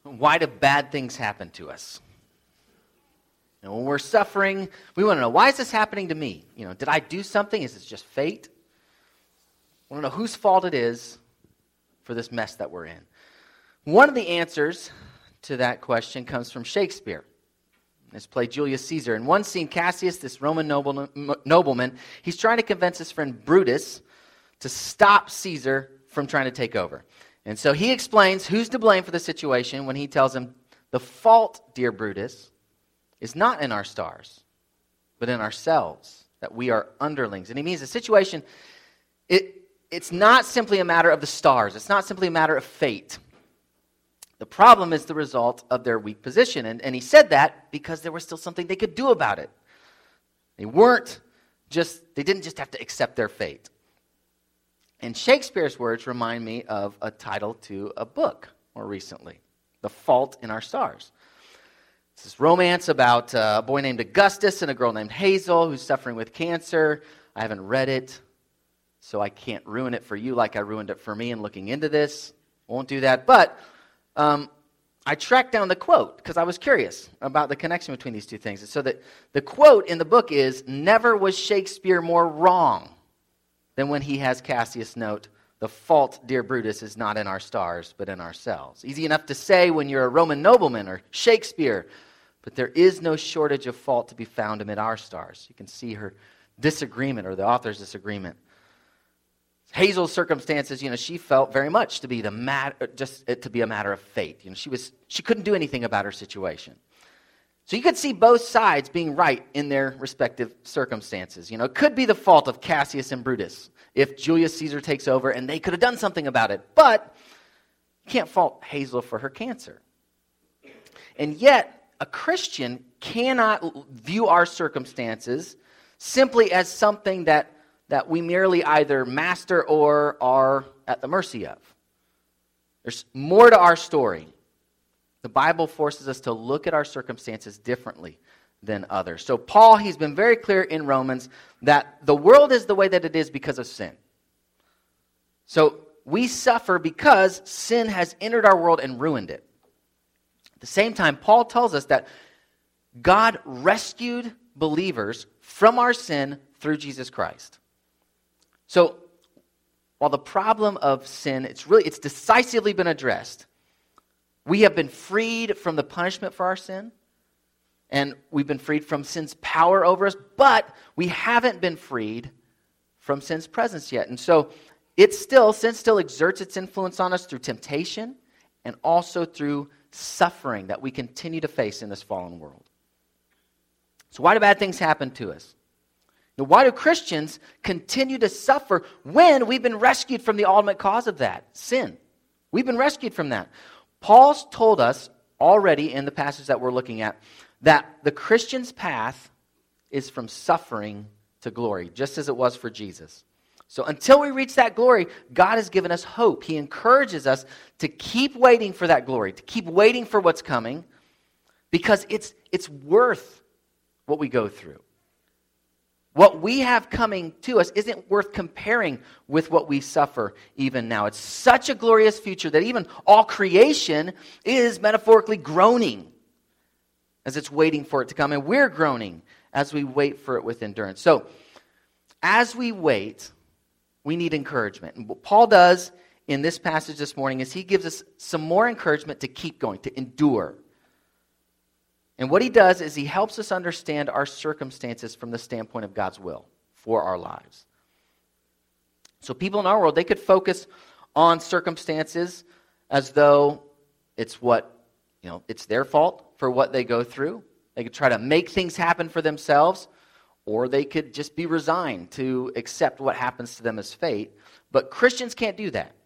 Why do bad things happen to us? And when we're suffering, we want to know, why is this happening to me? Did I do something? Is this just fate? I want to know whose fault it is for this mess that we're in. One of the answers to that question comes from Shakespeare. His play Julius Caesar. In one scene, Cassius, this Roman nobleman, he's trying to convince his friend Brutus to stop Caesar from trying to take over. And so he explains who's to blame for the situation when he tells him, the fault, dear Brutus, is not in our stars, but in ourselves, that we are underlings. And he means the situation, it's not simply a matter of the stars. It's not simply a matter of fate. The problem is the result of their weak position. And he said that because there was still something they could do about it. They didn't just have to accept their fate. And Shakespeare's words remind me of a title to a book more recently, The Fault in Our Stars. It's this romance about a boy named Augustus and a girl named Hazel who's suffering with cancer. I haven't read it, so I can't ruin it for you like I ruined it for me in looking into this. Won't do that. But I tracked down the quote because I was curious about the connection between these two things. And so that the quote in the book is, "Never was Shakespeare more wrong than when he has Cassius note, the fault, dear Brutus, is not in our stars, but in ourselves." Easy enough to say when you're a Roman nobleman or Shakespeare, but there is no shortage of fault to be found amid our stars. You can see her disagreement, or the author's disagreement. Hazel's circumstances, she felt very much to be a matter of fate. She couldn't do anything about her situation. So you could see both sides being right in their respective circumstances. It could be the fault of Cassius and Brutus if Julius Caesar takes over, and they could have done something about it. But you can't fault Hazel for her cancer. And yet, a Christian cannot view our circumstances simply as something that we merely either master or are at the mercy of. There's more to our story. The Bible forces us to look at our circumstances differently than others. So Paul, he's been very clear in Romans that the world is the way that it is because of sin. So we suffer because sin has entered our world and ruined it. At the same time, Paul tells us that God rescued believers from our sin through Jesus Christ. So, while the problem of sin, it's decisively been addressed. We have been freed from the punishment for our sin, and we've been freed from sin's power over us, but we haven't been freed from sin's presence yet. And so, sin still exerts its influence on us through temptation and also through suffering that we continue to face in this fallen world. So why do bad things happen to us? Why do Christians continue to suffer when we've been rescued from the ultimate cause of that, sin? We've been rescued from that. Paul's told us already in the passage that we're looking at that the Christian's path is from suffering to glory, just as it was for Jesus. So until we reach that glory, God has given us hope. He encourages us to keep waiting for that glory, to keep waiting for what's coming, because it's worth what we go through. What we have coming to us isn't worth comparing with what we suffer even now. It's such a glorious future that even all creation is metaphorically groaning as it's waiting for it to come. And we're groaning as we wait for it with endurance. So, as we wait, we need encouragement. And what Paul does in this passage this morning is he gives us some more encouragement to keep going, to endure. And what he does is he helps us understand our circumstances from the standpoint of God's will for our lives. So people in our world, they could focus on circumstances as though it's it's their fault for what they go through. They could try to make things happen for themselves, or they could just be resigned to accept what happens to them as fate. But Christians can't do that.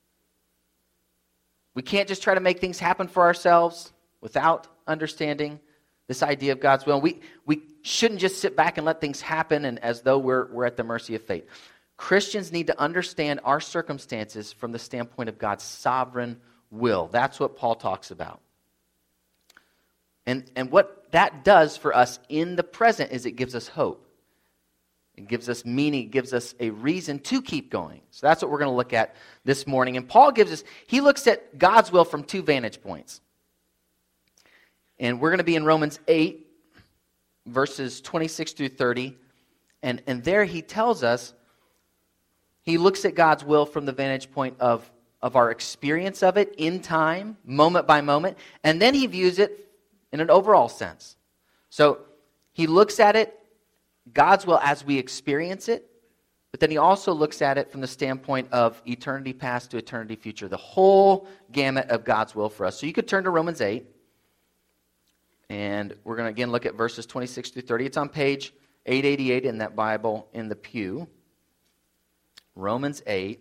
We can't just try to make things happen for ourselves without understanding this idea of God's will. We shouldn't just sit back and let things happen and as though we're at the mercy of fate. Christians need to understand our circumstances from the standpoint of God's sovereign will. That's what Paul talks about. And what that does for us in the present is it gives us hope. It gives us meaning. It gives us a reason to keep going. So that's what we're going to look at this morning. And Paul he looks at God's will from two vantage points. And we're going to be in Romans 8, verses 26 through 30. And there he tells us, he looks at God's will from the vantage point of our experience of it in time, moment by moment. And then he views it in an overall sense. So he looks at it, God's will as we experience it. But then he also looks at it from the standpoint of eternity past to eternity future, the whole gamut of God's will for us. So you could turn to Romans 8, and we're going to again look at verses 26 through 30. It's on page 888 in that Bible in the pew. Romans 8.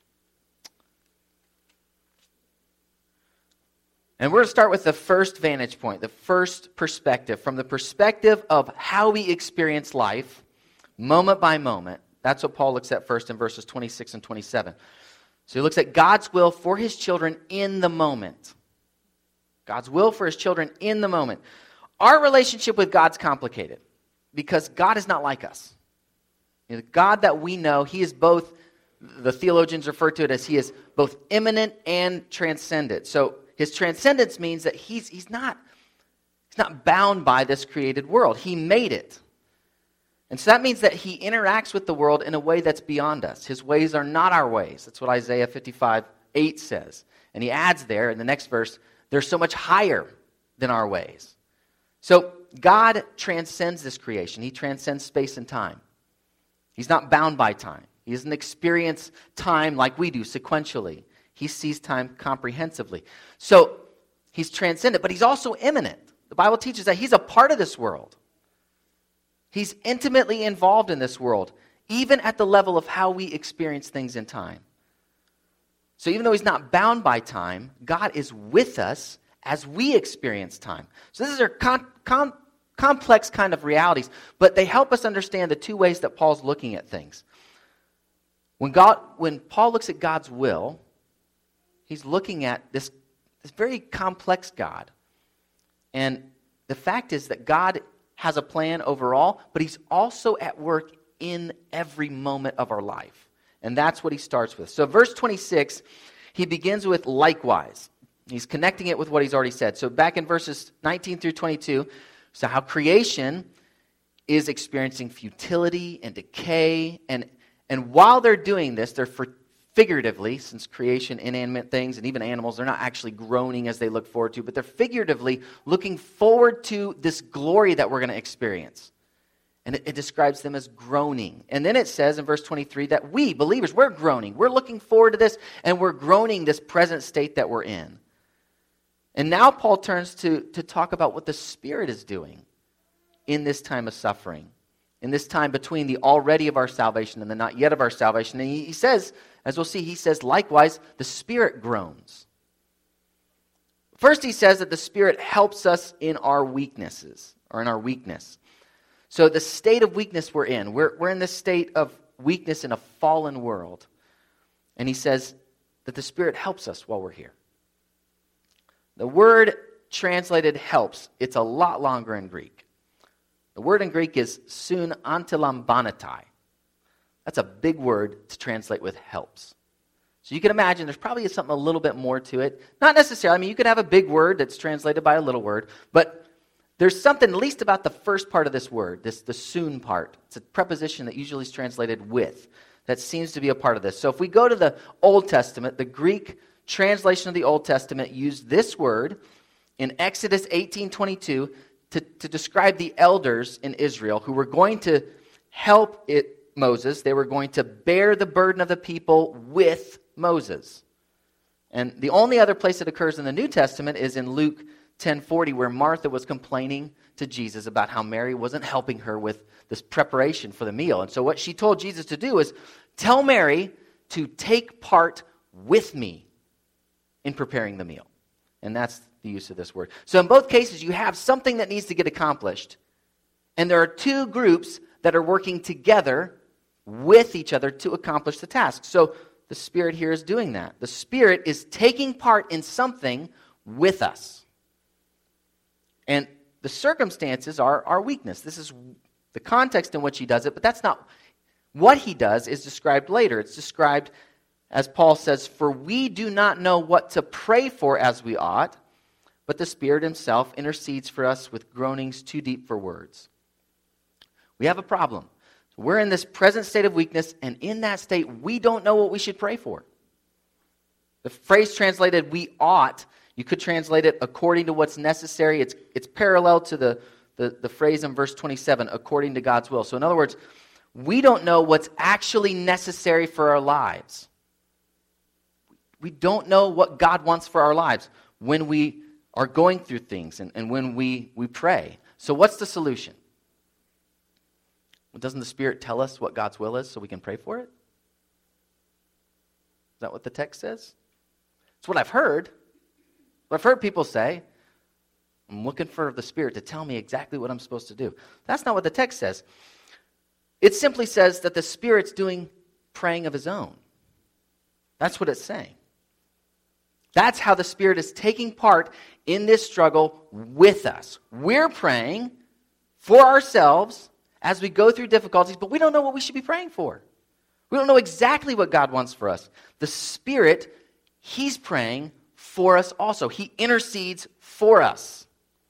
And we're going to start with the first vantage point, the first perspective, from the perspective of how we experience life, moment by moment. That's what Paul looks at first in verses 26 and 27. So he looks at God's will for his children in the moment. God's will for his children in the moment. Our relationship with God's complicated because God is not like us. The God that we know, he is both, the theologians refer to it as he is both immanent and transcendent. So his transcendence means that he's not bound by this created world. He made it. And so that means that he interacts with the world in a way that's beyond us. His ways are not our ways. That's what Isaiah 55:8 says. And he adds there in the next verse, they're so much higher than our ways. So God transcends this creation. He transcends space and time. He's not bound by time. He doesn't experience time like we do sequentially. He sees time comprehensively. So he's transcendent, but he's also immanent. The Bible teaches that he's a part of this world. He's intimately involved in this world, even at the level of how we experience things in time. So even though he's not bound by time, God is with us as we experience time. So these are complex kind of realities, but they help us understand the two ways that Paul's looking at things. When Paul looks at God's will, he's looking at this very complex God. And the fact is that God has a plan overall, but he's also at work in every moment of our life. And that's what he starts with. So verse 26, he begins with likewise. He's connecting it with what he's already said. So back in verses 19 through 22, so how creation is experiencing futility and decay. And while they're doing this, they're figuratively, since creation, inanimate things, and even animals, they're not actually groaning as they look forward to, but they're figuratively looking forward to this glory that we're going to experience. And it describes them as groaning. And then it says in verse 23 that we, believers, we're groaning. We're looking forward to this, and we're groaning this present state that we're in. And now Paul turns to talk about what the Spirit is doing in this time of suffering, in this time between the already of our salvation and the not yet of our salvation. And he says, as we'll see, he says, likewise, the Spirit groans. First, he says that the Spirit helps us in our weaknesses, or in our weakness. So the state of weakness we're in this state of weakness in a fallen world. And he says that the Spirit helps us while we're here. The word translated helps, it's a lot longer in Greek. The word in Greek is sun antilambanatai. That's a big word to translate with helps. So you can imagine there's probably something a little bit more to it. Not necessarily. I mean, you could have a big word that's translated by a little word, but there's something at least about the first part of this word, the soon part. It's a preposition that usually is translated with. That seems to be a part of this. So if we go to the Old Testament, the Greek translation of the Old Testament used this word in Exodus 18:22 to describe the elders in Israel who were going to help Moses. They were going to bear the burden of the people with Moses. And the only other place it occurs in the New Testament is in Luke 10:40, where Martha was complaining to Jesus about how Mary wasn't helping her with this preparation for the meal. And so what she told Jesus to do is tell Mary to take part with me in preparing the meal. And that's the use of this word. So in both cases, you have something that needs to get accomplished. And there are two groups that are working together with each other to accomplish the task. So the Spirit here is doing that. The Spirit is taking part in something with us. And the circumstances are our weakness. This is the context in which he does it, but that's not what he does is described later. It's described, as Paul says, for we do not know what to pray for as we ought, but the Spirit himself intercedes for us with groanings too deep for words. We have a problem. We're in this present state of weakness, and in that state, we don't know what we should pray for. The phrase translated, we ought, you could translate it according to what's necessary. It's parallel to the phrase in verse 27, according to God's will. So in other words, we don't know what's actually necessary for our lives. We don't know what God wants for our lives when we are going through things and when we pray. So what's the solution? Well, doesn't the Spirit tell us what God's will is so we can pray for it? Is that what the text says? It's what I've heard. What I've heard people say. I'm looking for the Spirit to tell me exactly what I'm supposed to do. That's not what the text says. It simply says that the Spirit's doing praying of his own. That's what it's saying. That's how the Spirit is taking part in this struggle with us. We're praying for ourselves as we go through difficulties, but we don't know what we should be praying for. We don't know exactly what God wants for us. The Spirit, he's praying for us also. He intercedes for us.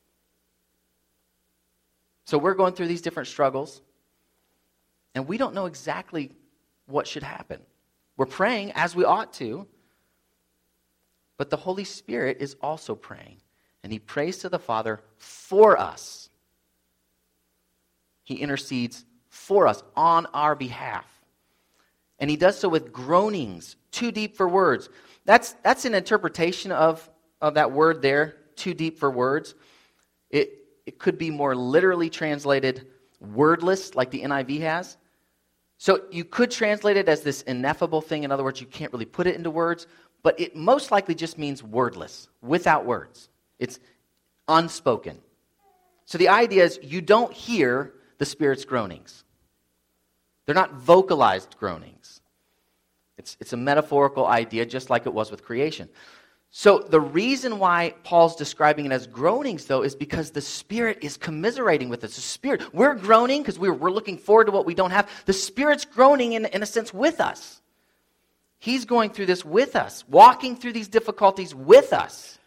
So we're going through these different struggles, and we don't know exactly what should happen. We're praying as we ought to, but the Holy Spirit is also praying, and he prays to the Father for us. He intercedes for us on our behalf. And he does so with groanings, too deep for words. That's an interpretation of that word there, too deep for words. It could be more literally translated wordless, like the NIV has. So you could translate it as this ineffable thing. In other words, you can't really put it into words. But it most likely just means wordless, without words. It's unspoken. So the idea is you don't hear the Spirit's groanings. They're not vocalized groanings. It's a metaphorical idea, just like it was with creation. So the reason why Paul's describing it as groanings, though, is because the Spirit is commiserating with us. The Spirit, we're groaning because we're looking forward to what we don't have. The Spirit's groaning, in a sense, with us. He's going through this with us, walking through these difficulties with us.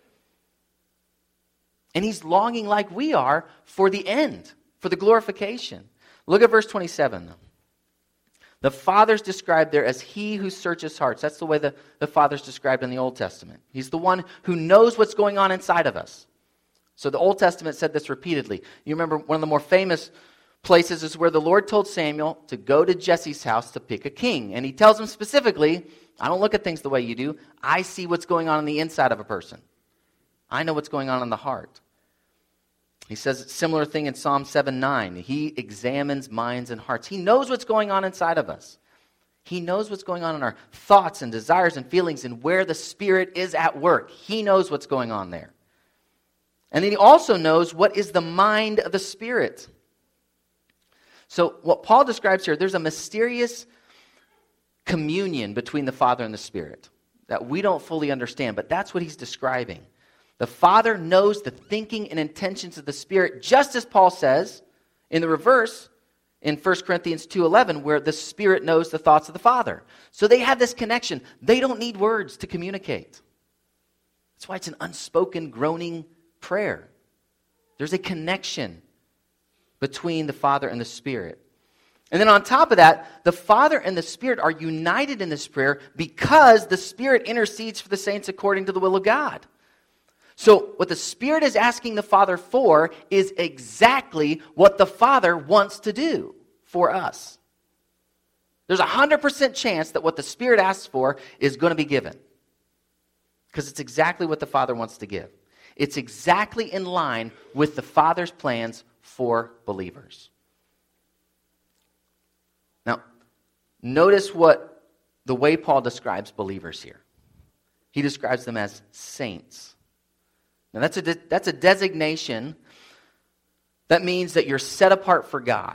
And he's longing like we are for the end, for the glorification. Look at verse 27. The Father's described there as he who searches hearts. That's the way the Father's described in the Old Testament. He's the one who knows what's going on inside of us. So the Old Testament said this repeatedly. You remember one of the more famous places is where the Lord told Samuel to go to Jesse's house to pick a king. And he tells him specifically, I don't look at things the way you do. I see what's going on the inside of a person. I know what's going on in the heart. He says a similar thing in Psalm 7:9. He examines minds and hearts. He knows what's going on inside of us. He knows what's going on in our thoughts and desires and feelings and where the Spirit is at work. He knows what's going on there. And then he also knows what is the mind of the Spirit. So what Paul describes here, there's a mysterious communion between the Father and the Spirit that we don't fully understand, but that's what he's describing. The Father knows the thinking and intentions of the Spirit, just as Paul says in the reverse in 1 Corinthians 2:11, where the Spirit knows the thoughts of the Father. So they have this connection. They don't need words to communicate. That's why it's an unspoken, groaning prayer. There's a connection between the Father and the Spirit. And then on top of that, the Father and the Spirit are united in this prayer because the Spirit intercedes for the saints according to the will of God. So what the Spirit is asking the Father for is exactly what the Father wants to do for us. There's a 100% chance that what the Spirit asks for is going to be given. Because it's exactly what the Father wants to give. It's exactly in line with the Father's plans for believers. Now, notice the way Paul describes believers here. He describes them as saints. Now, that's a designation that means that you're set apart for God.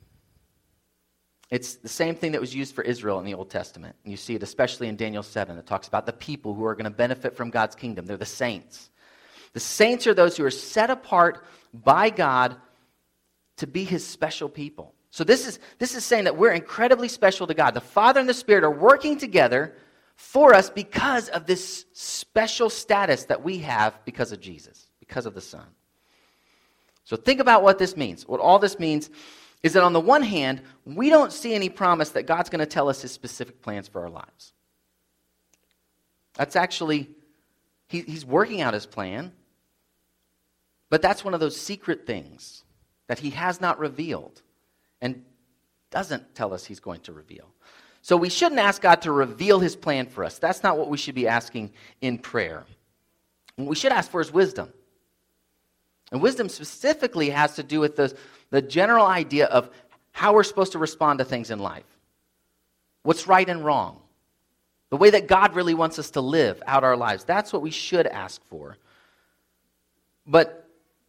It's the same thing that was used for Israel in the Old Testament. And you see it especially in Daniel 7. It talks about the people who are going to benefit from God's kingdom. They're the saints. The saints are those who are set apart by God to be his special people. So this is saying that we're incredibly special to God. The Father and the Spirit are working together for us because of this special status that we have because of Jesus, because of the Son. So think about what this means. What all this means is that on the one hand, we don't see any promise that God's going to tell us his specific plans for our lives. That's actually, he's working out his plan, but that's one of those secret things that he has not revealed and doesn't tell us he's going to reveal. So we shouldn't ask God to reveal his plan for us. That's not what we should be asking in prayer. What we should ask for is wisdom. And wisdom specifically has to do with the general idea of how we're supposed to respond to things in life. What's right and wrong. The way that God really wants us to live out our lives. That's what we should ask for. But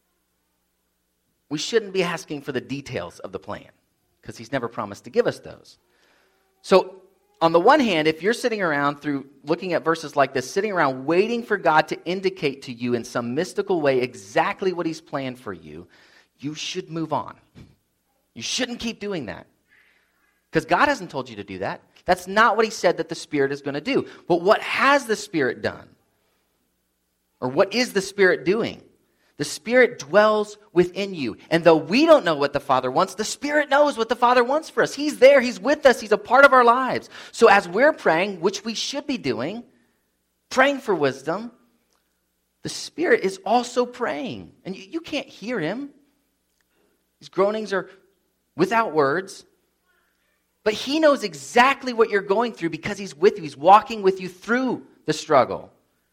we shouldn't be asking for the details of the plan, because he's never promised to give us those. So, on the one hand, if you're sitting around through looking at verses like this, sitting around waiting for God to indicate to you in some mystical way exactly what he's planned for you, you should move on. You shouldn't keep doing that. Because God hasn't told you to do that. That's not what he said that the Spirit is going to do. But what has the Spirit done? Or what is the Spirit doing? The Spirit dwells within you. And though we don't know what the Father wants, the Spirit knows what the Father wants for us. He's there. He's with us. He's a part of our lives. So as we're praying, which we should be doing, praying for wisdom, the Spirit is also praying. And you can't hear him. His groanings are without words. But he knows exactly what you're going through because he's with you. He's walking with you through the struggle.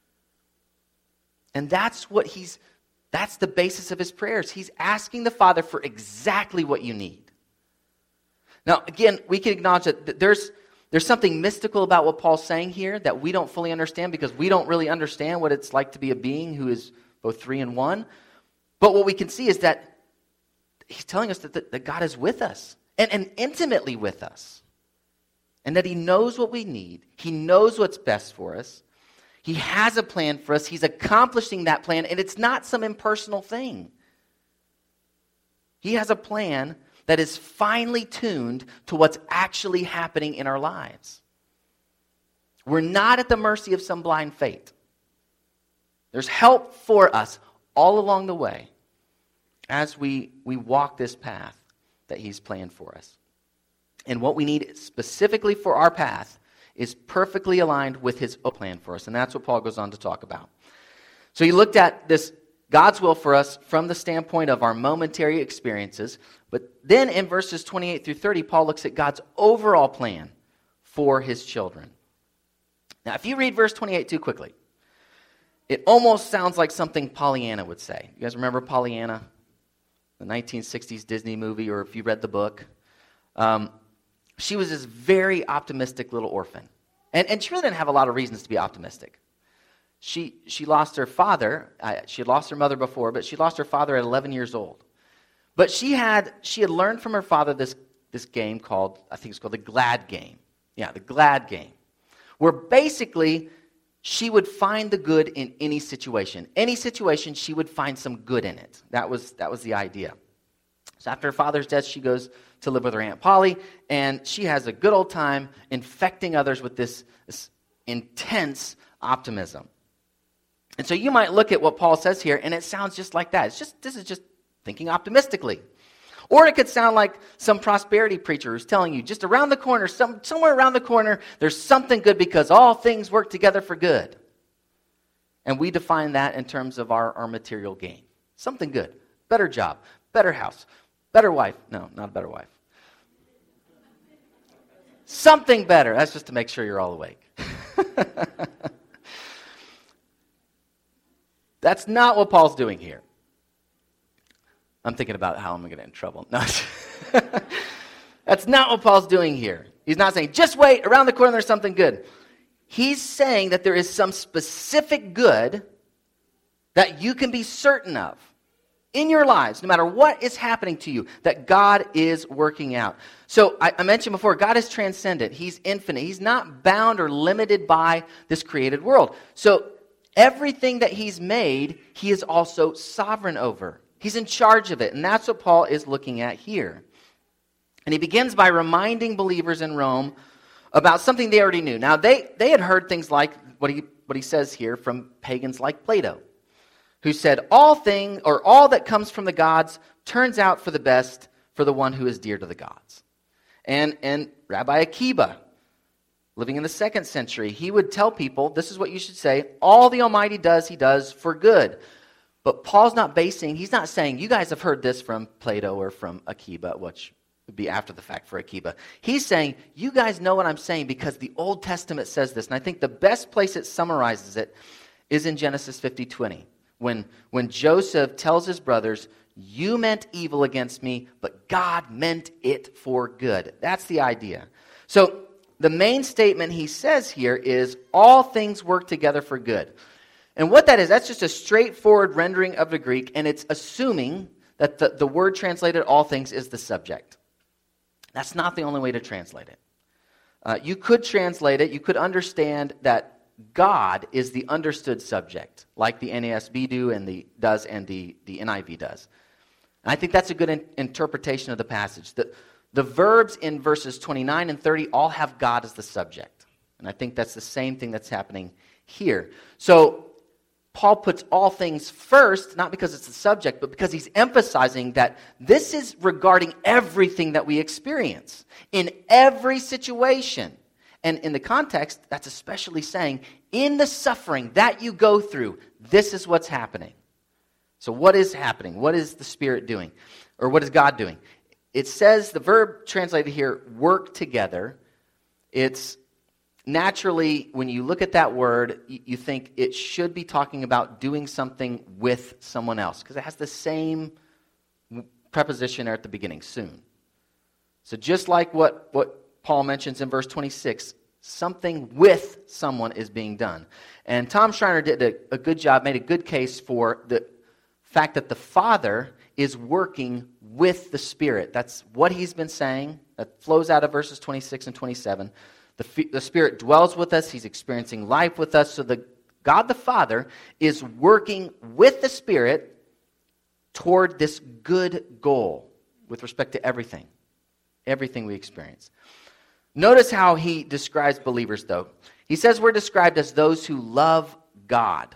And that's the basis of his prayers. He's asking the Father for exactly what you need. Now, again, we can acknowledge that there's something mystical about what Paul's saying here that we don't fully understand because we don't really understand what it's like to be a being who is both three and one. But what we can see is that he's telling us that God is with us and intimately with us. And that he knows what we need. He knows what's best for us. He has a plan for us. He's accomplishing that plan, and it's not some impersonal thing. He has a plan that is finely tuned to what's actually happening in our lives. We're not at the mercy of some blind fate. There's help for us all along the way as we walk this path that he's planned for us. And what we need specifically for our path is perfectly aligned with his plan for us. And that's what Paul goes on to talk about. So he looked at this God's will for us from the standpoint of our momentary experiences. But then in verses 28 through 30, Paul looks at God's overall plan for his children. Now, if you read verse 28 too quickly, it almost sounds like something Pollyanna would say. You guys remember Pollyanna? The 1960s Disney movie, or if you read the book. She was this very optimistic little orphan. And she really didn't have a lot of reasons to be optimistic. She lost her father. She had lost her mother before, but she lost her father at 11 years old. But she had learned from her father this game called, I think it's called the Glad Game. Yeah, the Glad Game. Where basically she would find the good in any situation. Any situation, she would find some good in it. That was the idea. So after her father's death, she goes to live with her Aunt Polly, and she has a good old time infecting others with this intense optimism. And so you might look at what Paul says here, and it sounds just like that. This is just thinking optimistically. Or it could sound like some prosperity preacher who's telling you, just around the corner, somewhere around the corner, there's something good because all things work together for good. And we define that in terms of our material gain. Something good. Better job. Better house. Better wife. No, not a better wife. Something better. That's just to make sure you're all awake. That's not what Paul's doing here. I'm thinking about how I'm going to get in trouble. No, that's not what Paul's doing here. He's not saying, just wait, around the corner there's something good. He's saying that there is some specific good that you can be certain of in your lives, no matter what is happening to you, that God is working out. So I mentioned before, God is transcendent. He's infinite. He's not bound or limited by this created world. So everything that he's made, he is also sovereign over. He's in charge of it, and that's what Paul is looking at here. And he begins by reminding believers in Rome about something they already knew. Now, they had heard things like what he says here from pagans like Plato, who said, all that comes from the gods turns out for the best for the one who is dear to the gods. And Rabbi Akiba, living in the 2nd century, he would tell people, this is what you should say, all the Almighty does, he does for good. But Paul's he's not saying, you guys have heard this from Plato or from Akiba, which would be after the fact for Akiba. He's saying, you guys know what I'm saying because the Old Testament says this. And I think the best place it summarizes it is in Genesis 50:20. When Joseph tells his brothers, you meant evil against me, but God meant it for good. That's the idea. So the main statement he says here is, all things work together for good. And what that is, that's just a straightforward rendering of the Greek, and it's assuming that the word translated all things is the subject. That's not the only way to translate it. You could translate it, you could understand that God is the understood subject, like the NASB does and the NIV does. And I think that's a good interpretation of the passage. The verbs in verses 29 and 30 all have God as the subject. And I think that's the same thing that's happening here. So Paul puts all things first, not because it's the subject, but because he's emphasizing that this is regarding everything that we experience, in every situation. And in the context, that's especially saying, in the suffering that you go through, this is what's happening. So what is happening? What is the Spirit doing? Or what is God doing? It says, the verb translated here, work together. It's naturally, when you look at that word, you think it should be talking about doing something with someone else, because it has the same preposition there at the beginning, soon. So just like what Paul mentions in verse 26, something with someone is being done. And Tom Schreiner did a good job, made a good case for the fact that the Father is working with the Spirit. That's what he's been saying. That flows out of verses 26 and 27. The Spirit dwells with us. He's experiencing life with us. So God the Father is working with the Spirit toward this good goal with respect to everything we experience. Notice how he describes believers, though. He says we're described as those who love God.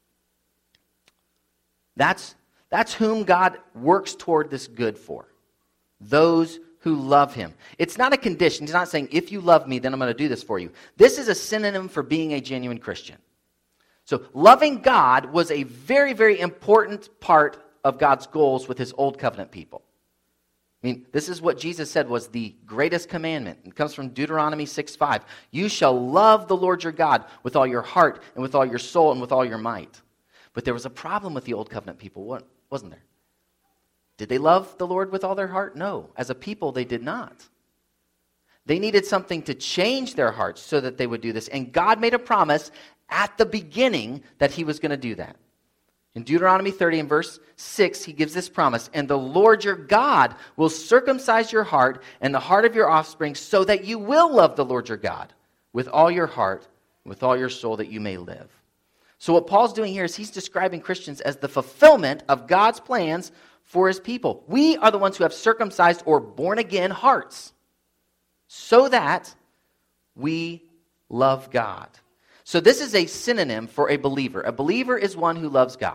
That's whom God works toward this good for. Those who love him. It's not a condition. He's not saying, if you love me, then I'm going to do this for you. This is a synonym for being a genuine Christian. So loving God was a very, very important part of God's goals with his old covenant people. I mean, this is what Jesus said was the greatest commandment. It comes from Deuteronomy 6:5. You shall love the Lord your God with all your heart and with all your soul and with all your might. But there was a problem with the old covenant people, wasn't there? Did they love the Lord with all their heart? No. As a people, they did not. They needed something to change their hearts so that they would do this. And God made a promise at the beginning that he was going to do that. In Deuteronomy 30 and verse 6, he gives this promise, and the Lord your God will circumcise your heart and the heart of your offspring so that you will love the Lord your God with all your heart, with all your soul, that you may live. So what Paul's doing here is he's describing Christians as the fulfillment of God's plans for his people. We are the ones who have circumcised or born-again hearts so that we love God. So this is a synonym for a believer. A believer is one who loves God.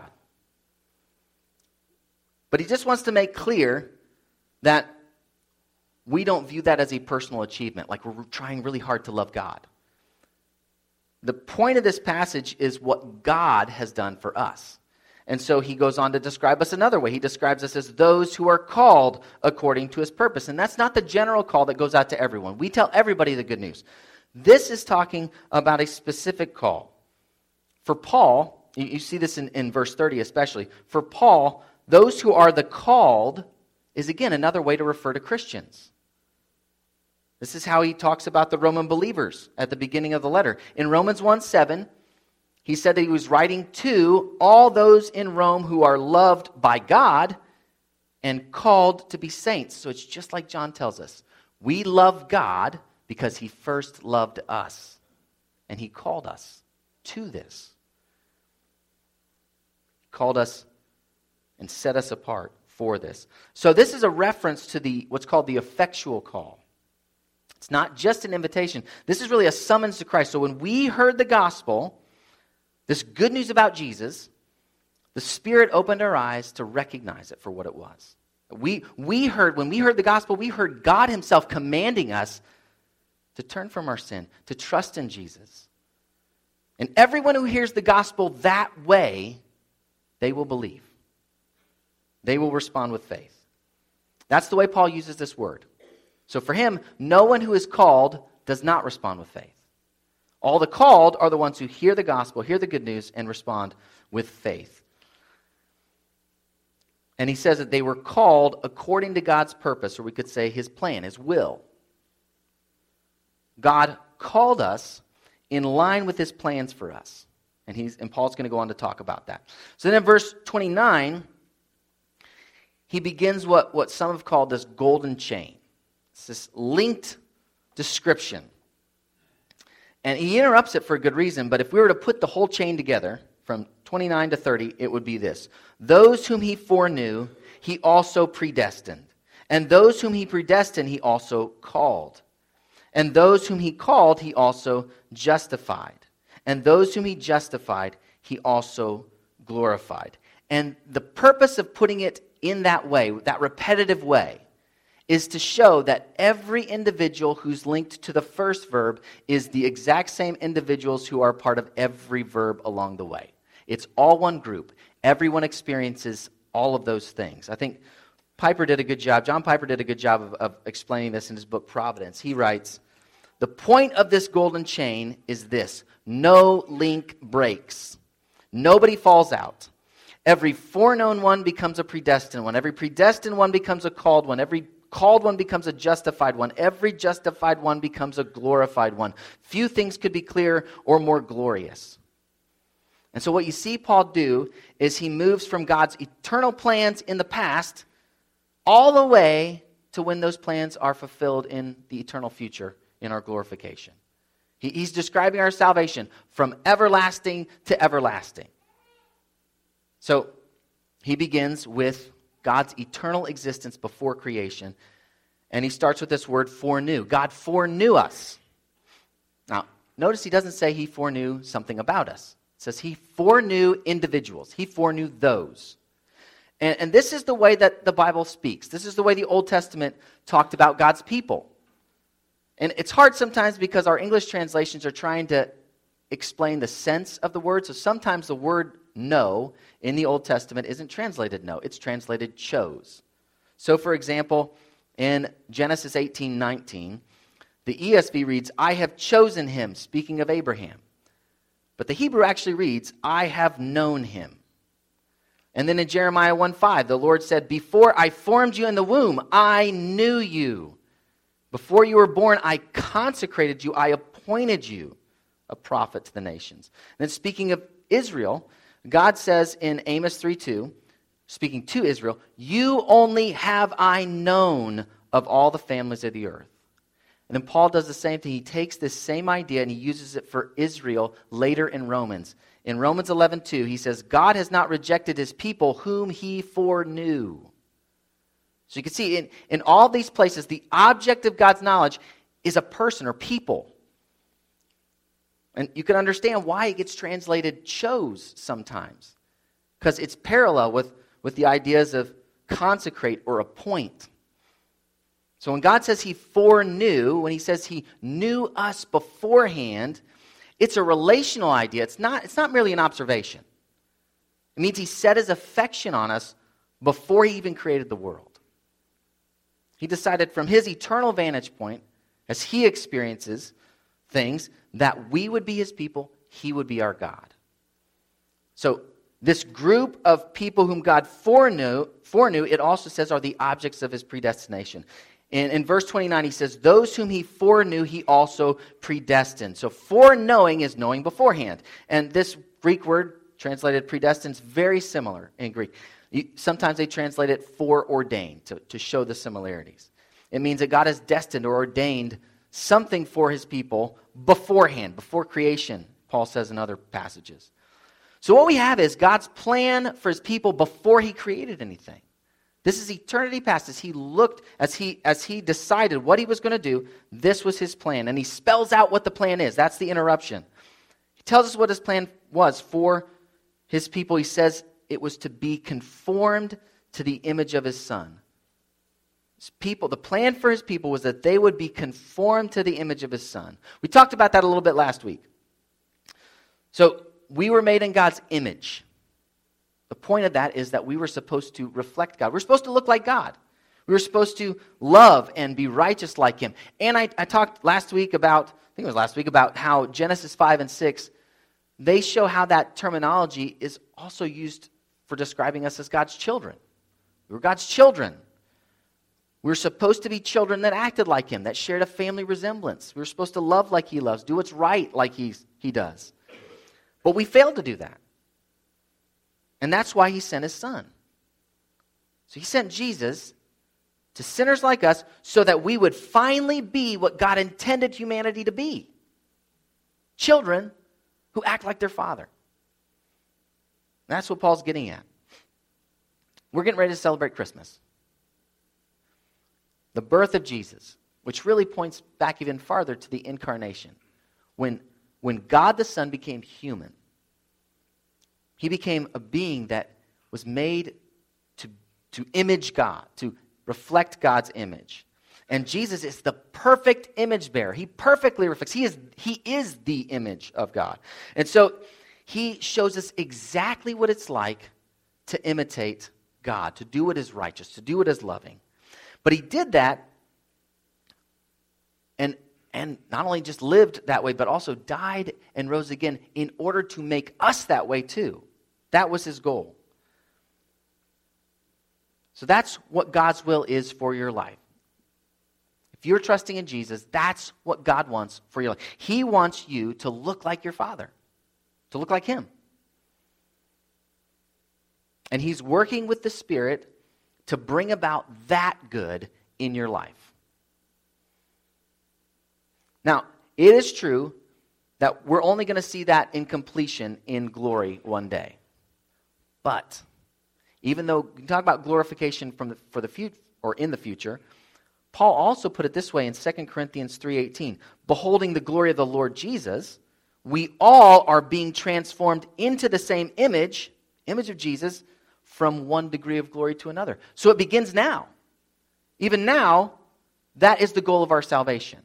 But he just wants to make clear that we don't view that as a personal achievement, like we're trying really hard to love God. The point of this passage is what God has done for us. And so he goes on to describe us another way. He describes us as those who are called according to his purpose. And that's not the general call that goes out to everyone. We tell everybody the good news. This is talking about a specific call. For Paul, you see this in verse 30 especially. For Paul, those who are the called is again another way to refer to Christians. This is how he talks about the Roman believers at the beginning of the letter. In Romans 1:7, he said that he was writing to all those in Rome who are loved by God and called to be saints. So it's just like John tells us. We love God because he first loved us. And he called us to this. He called us and set us apart for this. So this is a reference to what's called the effectual call. It's not just an invitation. This is really a summons to Christ. So when we heard the gospel, this good news about Jesus, the Spirit opened our eyes to recognize it for what it was. When we heard the gospel, we heard God himself commanding us to turn from our sin, to trust in Jesus. And everyone who hears the gospel that way, they will believe. They will respond with faith. That's the way Paul uses this word. So for him, no one who is called does not respond with faith. All the called are the ones who hear the gospel, hear the good news, and respond with faith. And he says that they were called according to God's purpose, or we could say his plan, his will. God called us in line with his plans for us. And Paul's going to go on to talk about that. So then in verse 29, he begins what some have called this golden chain. It's this linked description. And he interrupts it for a good reason, but if we were to put the whole chain together, from 29 to 30, it would be this. Those whom he foreknew, he also predestined. And those whom he predestined, he also called. And those whom he called, he also justified. And those whom he justified, he also glorified. And the purpose of putting it in that way, that repetitive way, is to show that every individual who's linked to the first verb is the exact same individuals who are part of every verb along the way. It's all one group. Everyone experiences all of those things. I think John Piper did a good job of explaining this in his book, Providence. He writes, the point of this golden chain is this: no link breaks. Nobody falls out. Every foreknown one becomes a predestined one. Every predestined one becomes a called one. Every called one becomes a justified one. Every justified one becomes a glorified one. Few things could be clearer or more glorious. And so what you see Paul do is he moves from God's eternal plans in the past all the way to when those plans are fulfilled in the eternal future in our glorification. He's describing our salvation from everlasting to everlasting. So he begins with God's eternal existence before creation. And he starts with this word foreknew. God foreknew us. Now, notice he doesn't say he foreknew something about us. It says he foreknew individuals. He foreknew those. And this is the way that the Bible speaks. This is the way the Old Testament talked about God's people. And it's hard sometimes because our English translations are trying to explain the sense of the word. So sometimes the word know in the Old Testament isn't translated know. It's translated chose. So for example, in Genesis 18:19, the ESV reads, I have chosen him, speaking of Abraham. But the Hebrew actually reads, I have known him. And then in Jeremiah 1:5, the Lord said, before I formed you in the womb, I knew you. Before you were born, I consecrated you. I appointed you a prophet to the nations. And then speaking of Israel, God says in Amos 3:2, speaking to Israel, you only have I known of all the families of the earth. And then Paul does the same thing. He takes this same idea and he uses it for Israel later in Romans. In Romans 11:2, he says, God has not rejected his people whom he foreknew. So you can see in all these places, the object of God's knowledge is a person or people. And you can understand why it gets translated chose sometimes. Because it's parallel with the ideas of consecrate or appoint. So when God says he foreknew, when he says he knew us beforehand, it's a relational idea. It's not merely an observation. It means he set his affection on us before he even created the world. He decided from his eternal vantage point, as he experiences things, that we would be his people, he would be our God. So this group of people whom God foreknew, it also says are the objects of his predestination. In verse 29, he says, those whom he foreknew, he also predestined. So foreknowing is knowing beforehand. And this Greek word, translated predestined, is very similar in Greek. Sometimes they translate it foreordained to show the similarities. It means that God has destined or ordained something for his people beforehand, before creation, Paul says in other passages. So what we have is God's plan for his people before he created anything. This is eternity past. As he decided what he was going to do, this was his plan. And he spells out what the plan is. That's the interruption. He tells us what his plan was for his people. He says it was to be conformed to the image of his Son. His people, the plan for his people was that they would be conformed to the image of his Son. We talked about that a little bit last week. So we were made in God's image. The point of that is that we were supposed to reflect God. We're supposed to look like God. We were supposed to love and be righteous like him. And I talked last week about, about how Genesis 5 and 6, they show how that terminology is also used for describing us as God's children. We were God's children. We were supposed to be children that acted like him, that shared a family resemblance. We were supposed to love like he loves, do what's right like he does. But we failed to do that. And that's why he sent his Son. So he sent Jesus to sinners like us so that we would finally be what God intended humanity to be. Children who act like their Father. And that's what Paul's getting at. We're getting ready to celebrate Christmas. The birth of Jesus, which really points back even farther to the incarnation. When God the Son became human, he became a being that was made to image God, to reflect God's image. And Jesus is the perfect image bearer. He perfectly reflects. He is the image of God. And so he shows us exactly what it's like to imitate God, to do what is righteous, to do what is loving. But he did that and not only just lived that way, but also died and rose again in order to make us that way too. That was his goal. So that's what God's will is for your life. If you're trusting in Jesus, that's what God wants for your life. He wants you to look like your Father, to look like him. And he's working with the Spirit to bring about that good in your life. Now, it is true that we're only going to see that in completion in glory one day. But even though we can talk about glorification for the future or in the future, Paul also put it this way in 2 Corinthians 3:18, beholding the glory of the Lord Jesus, we all are being transformed into the same image of Jesus, from one degree of glory to another. So it begins now. Even now, that is the goal of our salvation.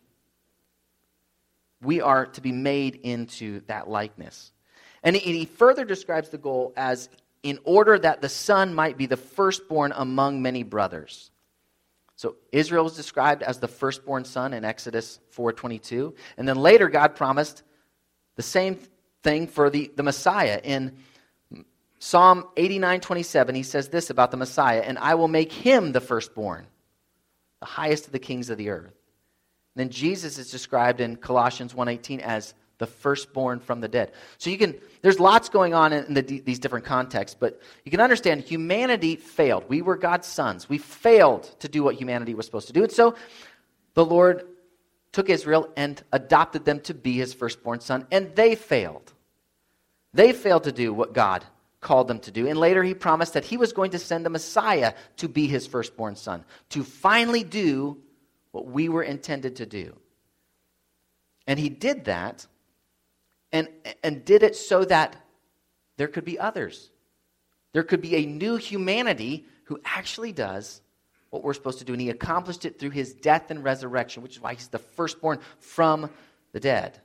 We are to be made into that likeness. And he further describes the goal as in order that the son might be the firstborn among many brothers. So Israel was described as the firstborn son in Exodus 4:22. And then later God promised the same thing for the Messiah. In Psalm 89:27, he says this about the Messiah, and I will make him the firstborn, the highest of the kings of the earth. And then Jesus is described in Colossians 1:18 as the firstborn from the dead. So there's lots going on in these different contexts, but you can understand humanity failed. We were God's sons. We failed to do what humanity was supposed to do. And so the Lord took Israel and adopted them to be his firstborn son, and they failed. They failed to do what God called them to do. And later he promised that he was going to send the Messiah to be his firstborn son, to finally do what we were intended to do. And he did that, and did it so that there could be others. There could be a new humanity who actually does what we're supposed to do. And he accomplished it through his death and resurrection, which is why he's the firstborn from the dead.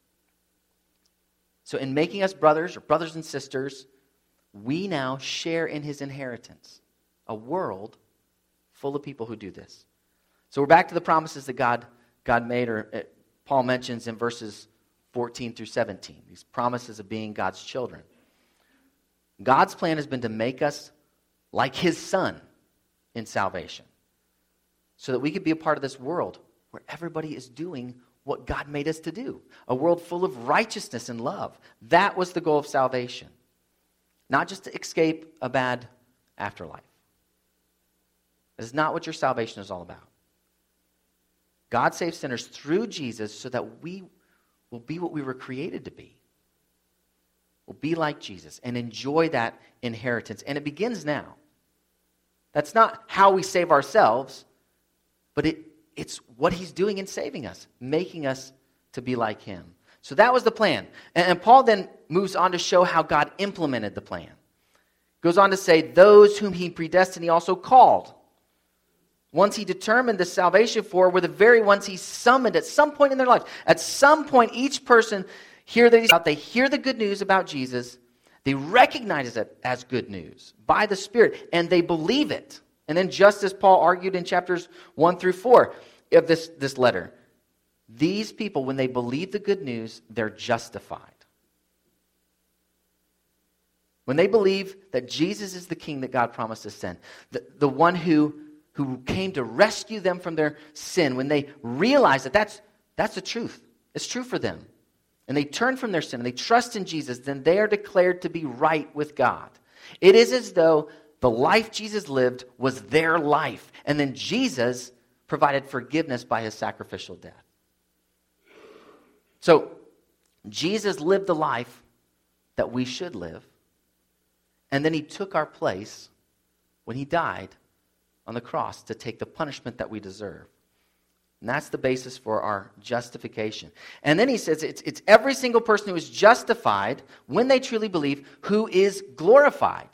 So in making us brothers and sisters, we now share in his inheritance, a world full of people who do this. So we're back to the promises that God made, or Paul mentions in verses 14 through 17, these promises of being God's children. God's plan has been to make us like his son in salvation, so that we could be a part of this world where everybody is doing what God made us to do, a world full of righteousness and love. That was the goal of salvation, not just to escape a bad afterlife. That is not what your salvation is all about. God saves sinners through Jesus so that we will be what we were created to be. We'll be like Jesus and enjoy that inheritance. And it begins now. That's not how we save ourselves, but it's what he's doing in saving us, making us to be like him. So that was the plan. And Paul then moves on to show how God implemented the plan. Goes on to say, those whom he predestined, he also called. Ones he determined the salvation for were the very ones he summoned at some point in their life. At some point, each person they hear the good news about Jesus. They recognize it as good news by the Spirit, and they believe it. And then just as Paul argued in chapters 1 through 4 of this letter, these people, when they believe the good news, they're justified. When they believe that Jesus is the King that God promised to send, the one who came to rescue them from their sin, when they realize that that's the truth, it's true for them, and they turn from their sin and they trust in Jesus, then they are declared to be right with God. It is as though the life Jesus lived was their life, and then Jesus provided forgiveness by his sacrificial death. So, Jesus lived the life that we should live, and then he took our place when he died on the cross to take the punishment that we deserve. And that's the basis for our justification. And then he says it's every single person who is justified when they truly believe who is glorified.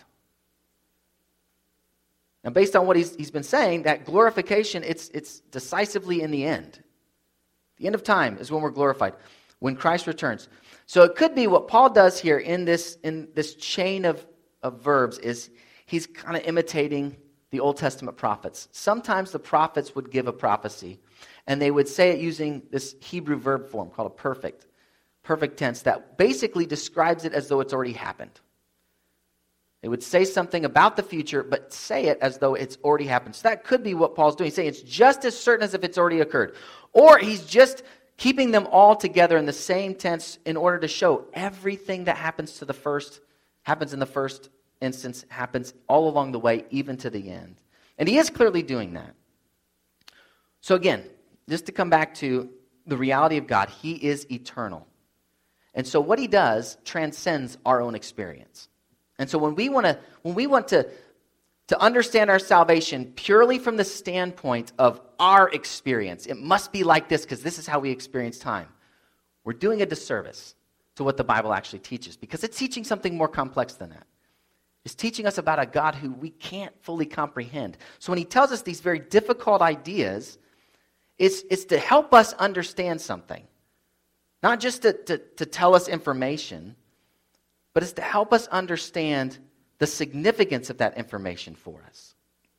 Now, based on what he's been saying, that glorification, it's decisively in the end. The end of time is when we're glorified, when Christ returns. So it could be what Paul does here in this chain of verbs is he's kind of imitating the Old Testament prophets. Sometimes the prophets would give a prophecy, and they would say it using this Hebrew verb form called a perfect tense that basically describes it as though it's already happened. They would say something about the future, but say it as though it's already happened. So that could be what Paul's doing. He's saying it's just as certain as if it's already occurred. Or he's just keeping them all together in the same tense in order to show everything that happens in the first instance, happens all along the way, even to the end. And he is clearly doing that. So again, just to come back to the reality of God, he is eternal. And so what he does transcends our own experience. And so when we want to understand our salvation purely from the standpoint of our experience, it must be like this because this is how we experience time. We're doing a disservice to what the Bible actually teaches because it's teaching something more complex than that. It's teaching us about a God who we can't fully comprehend. So when he tells us these very difficult ideas, it's to help us understand something. Not just to tell us information, but it's to help us understand the significance of that information for us.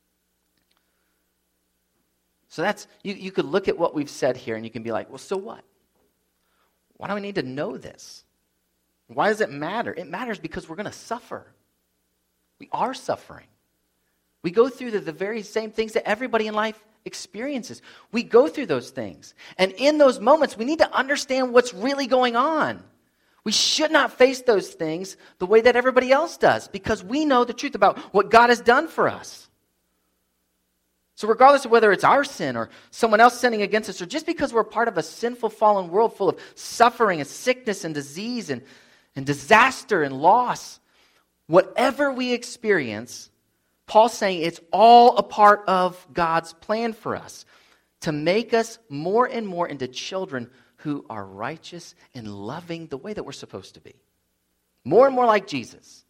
So that's, you could look at what we've said here and you can be like, well, so what? Why do we need to know this? Why does it matter? It matters because we're going to suffer. We are suffering. We go through the very same things that everybody in life experiences. We go through those things. And in those moments, we need to understand what's really going on. We should not face those things the way that everybody else does because we know the truth about what God has done for us. So regardless of whether it's our sin or someone else sinning against us, or just because we're part of a sinful, fallen world full of suffering and sickness and disease and disaster and loss, whatever we experience, Paul's saying it's all a part of God's plan for us to make us more and more into children who are righteous and loving the way that we're supposed to be. More and more like Jesus.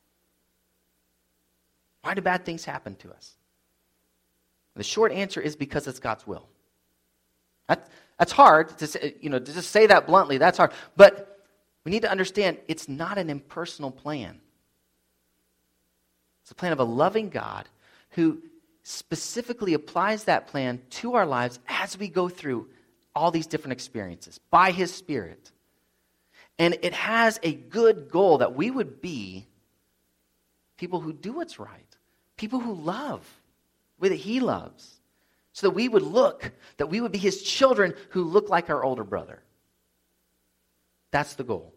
Why do bad things happen to us? The short answer is because it's God's will. That's hard to say, to just say that bluntly. That's hard. But we need to understand it's not an impersonal plan. It's a plan of a loving God who specifically applies that plan to our lives as we go through all these different experiences by his Spirit. And it has a good goal that we would be people who do what's right, people who love the way that he loves, so that we would be his children who look like our older brother. That's the goal.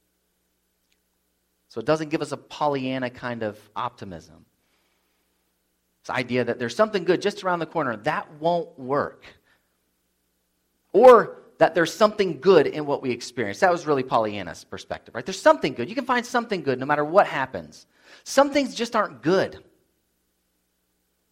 So it doesn't give us a Pollyanna kind of optimism. This idea that there's something good just around the corner, that won't work. Or that there's something good in what we experience. That was really Pollyanna's perspective, right? There's something good. You can find something good no matter what happens. Some things just aren't good.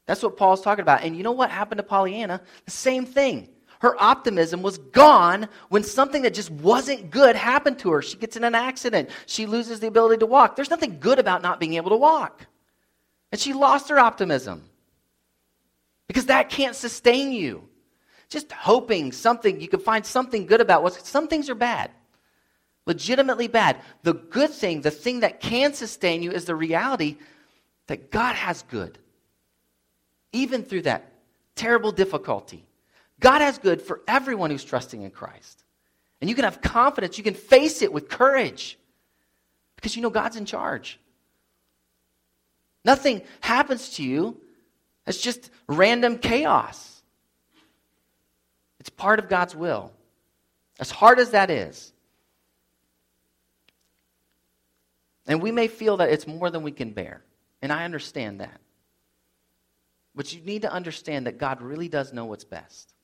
That's what Paul's talking about. And you know what happened to Pollyanna? The same thing. Her optimism was gone when something that just wasn't good happened to her. She gets in an accident. She loses the ability to walk. There's nothing good about not being able to walk. And she lost her optimism. Because that can't sustain you. Just hoping you can find something good about what some things are bad. Legitimately bad. The good thing, the thing that can sustain you is the reality that God has good. Even through that terrible difficulty. God has good for everyone who's trusting in Christ. And you can have confidence. You can face it with courage. Because you know God's in charge. Nothing happens to you. It's just random chaos. It's part of God's will. As hard as that is. And we may feel that it's more than we can bear. And I understand that. But you need to understand that God really does know what's best.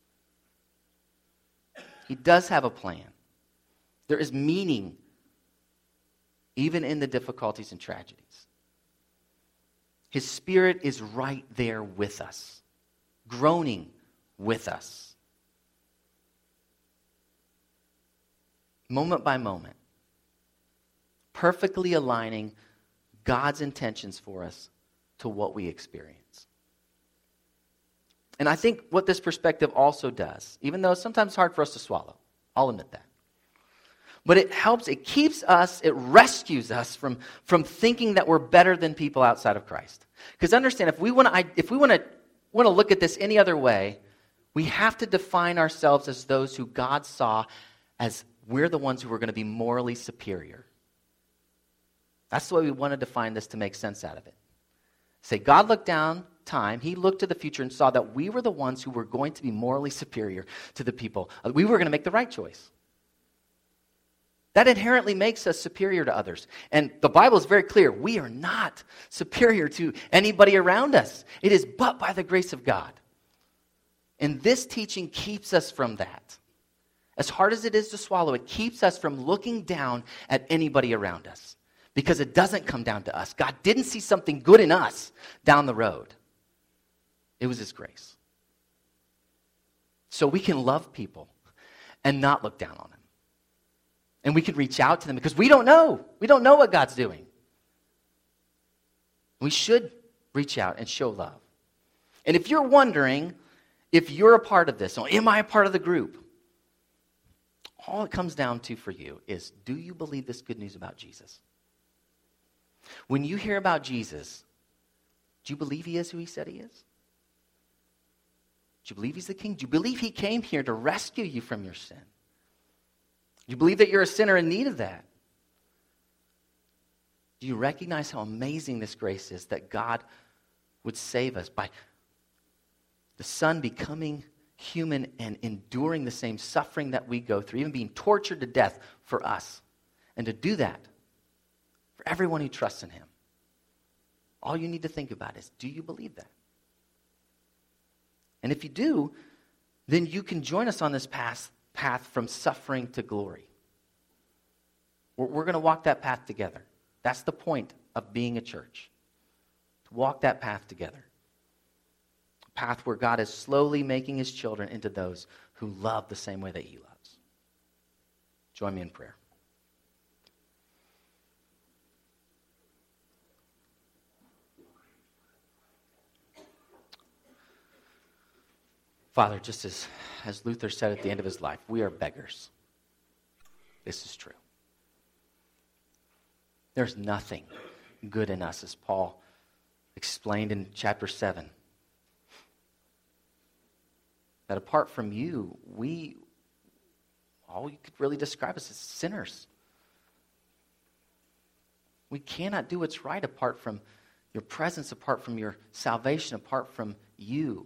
He does have a plan. There is meaning even in the difficulties and tragedies. His Spirit is right there with us, groaning with us. Moment by moment, perfectly aligning God's intentions for us to what we experience. And I think what this perspective also does, even though it's sometimes hard for us to swallow, I'll admit that. But it helps, it keeps us, it rescues us from thinking that we're better than people outside of Christ. Because understand, if we want to look at this any other way, we have to define ourselves as those who God saw as we're the ones who are going to be morally superior. That's the way we want to define this to make sense out of it. Say, God looked down time, he looked to the future and saw that we were the ones who were going to be morally superior to the people. We were going to make the right choice. That inherently makes us superior to others. And the Bible is very clear. We are not superior to anybody around us. It is but by the grace of God. And this teaching keeps us from that. As hard as it is to swallow, it keeps us from looking down at anybody around us. Because it doesn't come down to us. God didn't see something good in us down the road. It was His grace. So we can love people and not look down on them. And we can reach out to them because we don't know. We don't know what God's doing. We should reach out and show love. And if you're wondering if you're a part of this, or am I a part of the group? All it comes down to for you is, do you believe this good news about Jesus? When you hear about Jesus, do you believe He is who He said He is? Do you believe He's the King? Do you believe He came here to rescue you from your sin? Do you believe that you're a sinner in need of that? Do you recognize how amazing this grace is that God would save us by the Son becoming human and enduring the same suffering that we go through, even being tortured to death for us? And to do that for everyone who trusts in Him. All you need to think about is, do you believe that? And if you do, then you can join us on this path from suffering to glory. We're going to walk that path together. That's the point of being a church. To walk that path together. A path where God is slowly making His children into those who love the same way that He loves. Join me in prayer. Father, just as Luther said at the end of his life, we are beggars. This is true. There's nothing good in us, as Paul explained in chapter 7. That apart from you, all you could really describe us as sinners. We cannot do what's right apart from your presence, apart from your salvation, apart from you.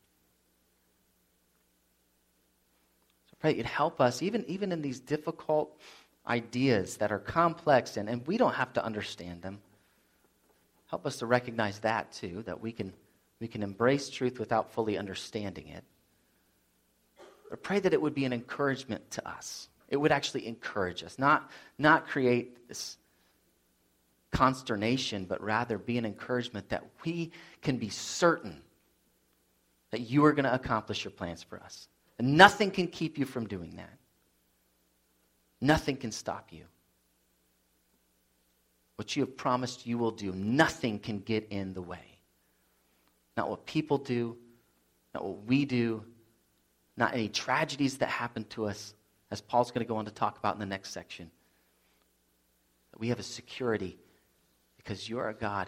Pray that you'd help us, even in these difficult ideas that are complex and we don't have to understand them. Help us to recognize that too, that we can embrace truth without fully understanding it. But pray that it would be an encouragement to us. It would actually encourage us, not create this consternation, but rather be an encouragement that we can be certain that you are going to accomplish your plans for us. And nothing can keep you from doing that. Nothing can stop you. What you have promised you will do, nothing can get in the way. Not what people do, not what we do, not any tragedies that happen to us, as Paul's going to go on to talk about in the next section. That we have a security because you are a God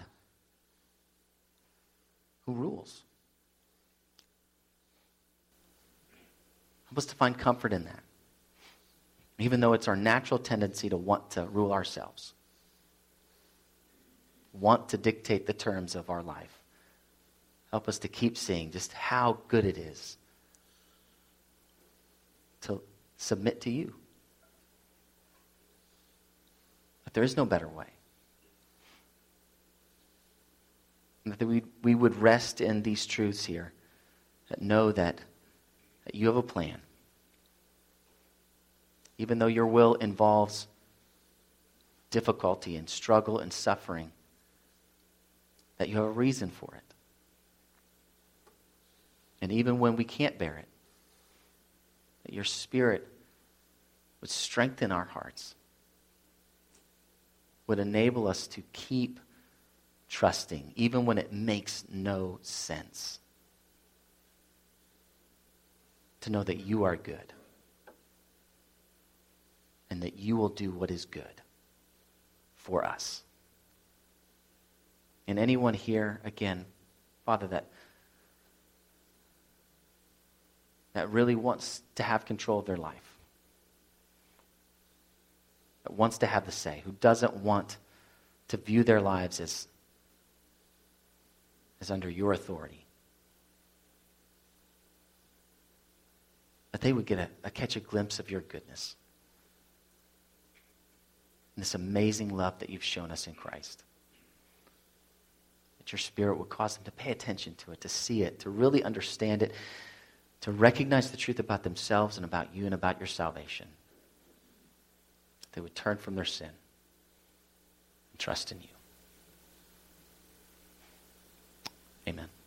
who rules. Help us to find comfort in that. Even though it's our natural tendency to want to rule ourselves, want to dictate the terms of our life. Help us to keep seeing just how good it is to submit to you. That there is no better way. And that we would rest in these truths here, that know that you have a plan. Even though your will involves difficulty and struggle and suffering, that you have a reason for it. And even when we can't bear it, that your Spirit would strengthen our hearts, would enable us to keep trusting, even when it makes no sense. To know that you are good, and that you will do what is good for us. And anyone here, again, Father, that really wants to have control of their life, that wants to have the say, who doesn't want to view their lives as under your authority, that they would get catch a glimpse of your goodness and this amazing love that you've shown us in Christ. That your Spirit would cause them to pay attention to it, to see it, to really understand it, to recognize the truth about themselves and about you and about your salvation. That they would turn from their sin and trust in you. Amen.